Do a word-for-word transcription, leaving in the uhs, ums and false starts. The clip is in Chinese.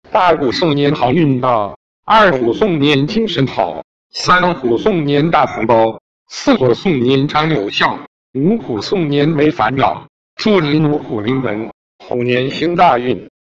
大虎送年好运到，二虎送年精神好，三虎送年大福包，四虎送年长有效，五虎送年没烦恼。祝您五虎临门，虎年行大运。